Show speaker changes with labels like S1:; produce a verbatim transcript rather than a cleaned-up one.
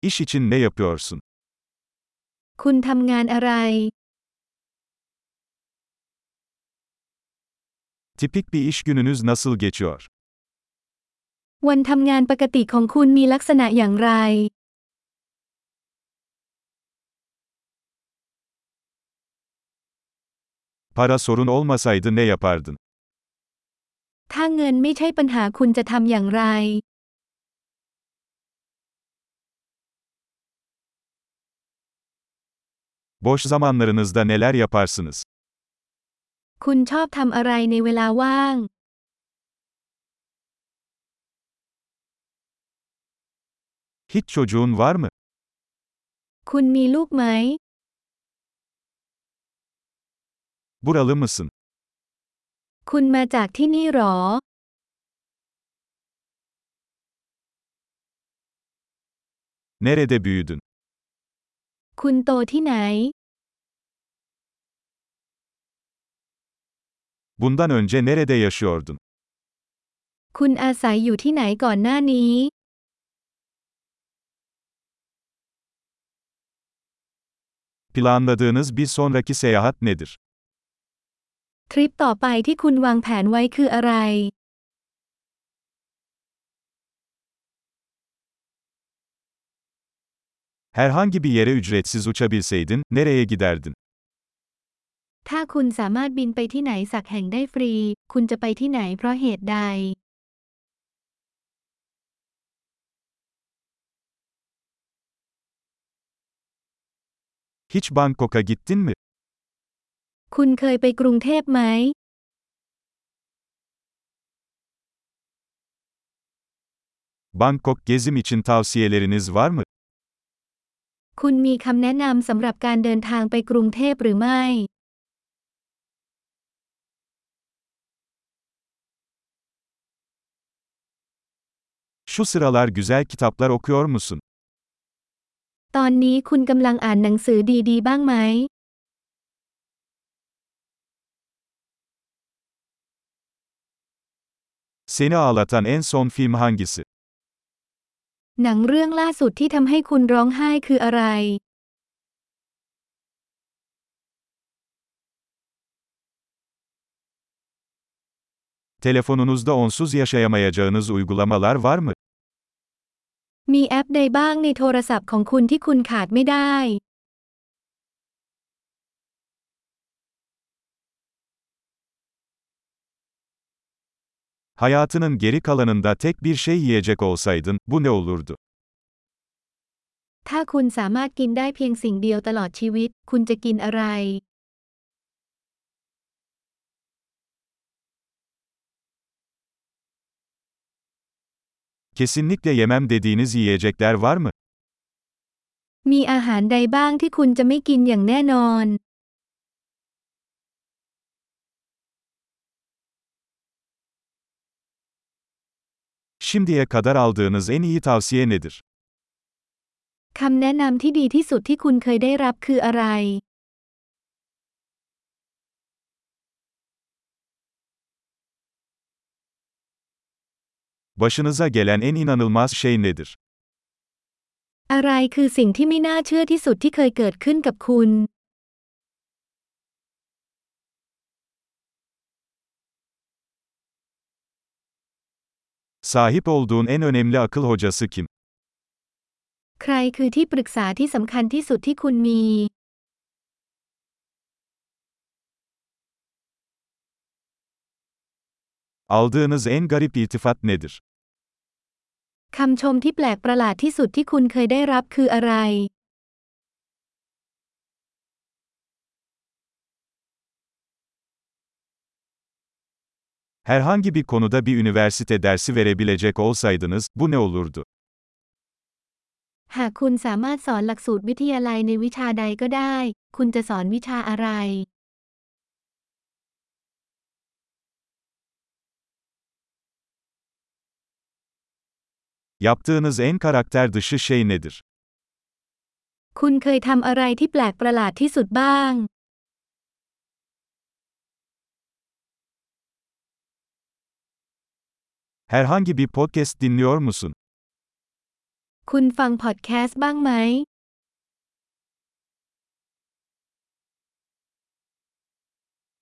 S1: İş için ne yapıyorsun?
S2: คุณทำงานอะไร
S1: Tipik bir iş gününüz nasıl geçiyor?
S2: วันทำงานปกติของคุณมีลักษณะอย่างไร
S1: Para sorun olmasaydı ne yapardın?
S2: ถ้าเงินไม่ใช่ปัญหาคุณจะทำอย่างไร
S1: Boş zamanlarınızda neler yaparsınız?
S2: คุณชอบทำอะไรในเวลาว่าง
S1: Hiç çocuğun var mı?
S2: คุณมีลูกไหม
S1: Buralı mısın?
S2: คุณมาจากที่นี่หรอ
S1: Nerede büyüdün?
S2: คุณโตที่ไหน
S1: Bundan önce nerede yaşıyordun?
S2: คุณอาศัยอยู่ที่ไหนก่อนหน้านี้
S1: Planladığınız bir sonraki seyahat nedir?
S2: ทริปต่อไปที่คุณวางแผนไว้คืออะไร
S1: Herhangi bir yere ücretsiz uçabilseydin, nereye giderdin?
S2: ถ้าคุณสามารถบินไปที่ไหนสักแห่งได้ฟรี คุณจะไปที่ไหนเพราะเหตุใด
S1: Hiç Bangkok'a gittin mi?
S2: คุณเคยไปกรุงเทพไหม
S1: Bangkok gezim için tavsiyeleriniz var mı?
S2: คุณมีคำแนะนำสำหรับการเดินทางไปกรุงเทพหรือไม่
S1: Şu sıralar güzel kitaplar okuyor musun?
S2: ตอนนี้คุณกำลังอ่านหนังสือดีๆบ้างไหม
S1: Seni ağlatan en son film hangisi?
S2: หนังเรื่องล่าสุดที่ทำให้คุณร้องไห้คืออะไร
S1: Telefonunuzda onsuz yaşayamayacağınız uygulamalar var mı?
S2: มีแอปใดบ้างในโทรศัพท์ของคุณที่คุณขาดไม่ได้
S1: Hayatının geri kalanında tek bir şey yiyecek olsaydın, bu ne olurdu?
S2: ถ้าคุณสามารถกินได้เพียงสิ่งเดียวตลอดชีวิต คุณจะกินอะไร
S1: Kesinlikle yemem dediğiniz yiyecekler var mı?
S2: มีอาหารใดบ้างที่คุณจะไม่กินอย่างแน่นอน
S1: Şimdiye kadar aldığınız en iyi tavsiye nedir?
S2: คำแนะนำที่ดีที่สุดที่คุณเคยได้รับคืออะไร
S1: Başınıza gelen en inanılmaz şey nedir?
S2: อะไรคือสิ่งที่ไม่น่าเชื่อที่สุดที่เคยเกิดขึ้นกับคุณ
S1: Sahip olduğun en önemli akıl hocası kim?
S2: ใครคือที่ปรึกษาที่สำคัญที่สุดที่คุณมี
S1: Aldığınız en garip iltifat nedir?
S2: คำชมที่แปลกประหลาดที่สุดที่คุณเคยได้รับคืออะไร
S1: Herhangi bir konuda bir üniversite dersi verebilecek olsaydınız, bu ne olurdu?
S2: หากคุณสามารถสอนหลักสูตรวิทยาลัยในวิชาใดก็ได้ คุณจะสอนวิชาอะไร
S1: Yaptığınız en karakter dışı şey nedir?
S2: คุณเคยทำอะไรที่แปลกประหลาดที่สุดบ้าง
S1: Herhangi bir podcast dinliyor musun?
S2: คุณฟังพอดแคสต์บ้างไหม